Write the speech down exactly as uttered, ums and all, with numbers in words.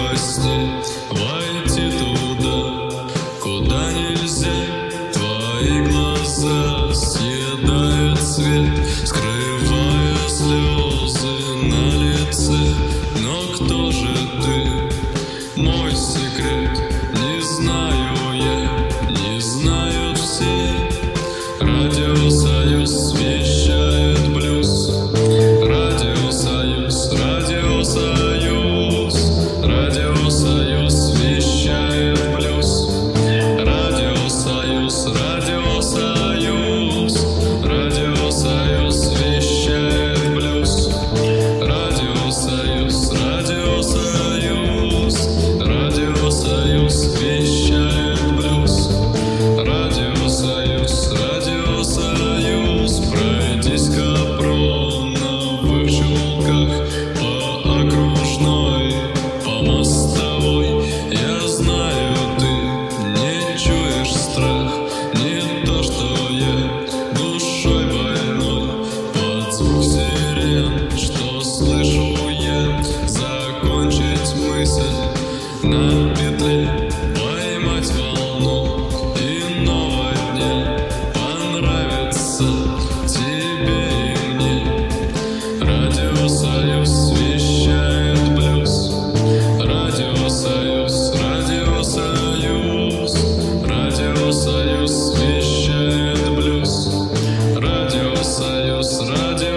во сне войти туда, куда нельзя. Твои глаза съедают свет, скрывая слезы на лице. Но кто же ты? Мой секрет не знаю я, не знают все. Радиосоюз вещает блюз. Радиосоюз, радиосоюз, радиосоюз вещает блюз. Радиосоюз, радиосоюз, радиосоюз вещает блюз. Радиосоюз, радиосоюз, радиосоюз вещает блюз. Радиосоюз, радиосоюз, пройдись к Капроновых чулках по окружной, по мостовой. Я знаю, ты не чуешь страх, не то, что я душой больной. Под звук сирен, что слышу я, закончить мысль на петле, поймать волну иного дня. Понравится тебе и мне. Радиосоюз вещает блюз. Радиосоюз, радиосоюз, радиосоюз вещает блюз. Радиосоюз, радиосоюз.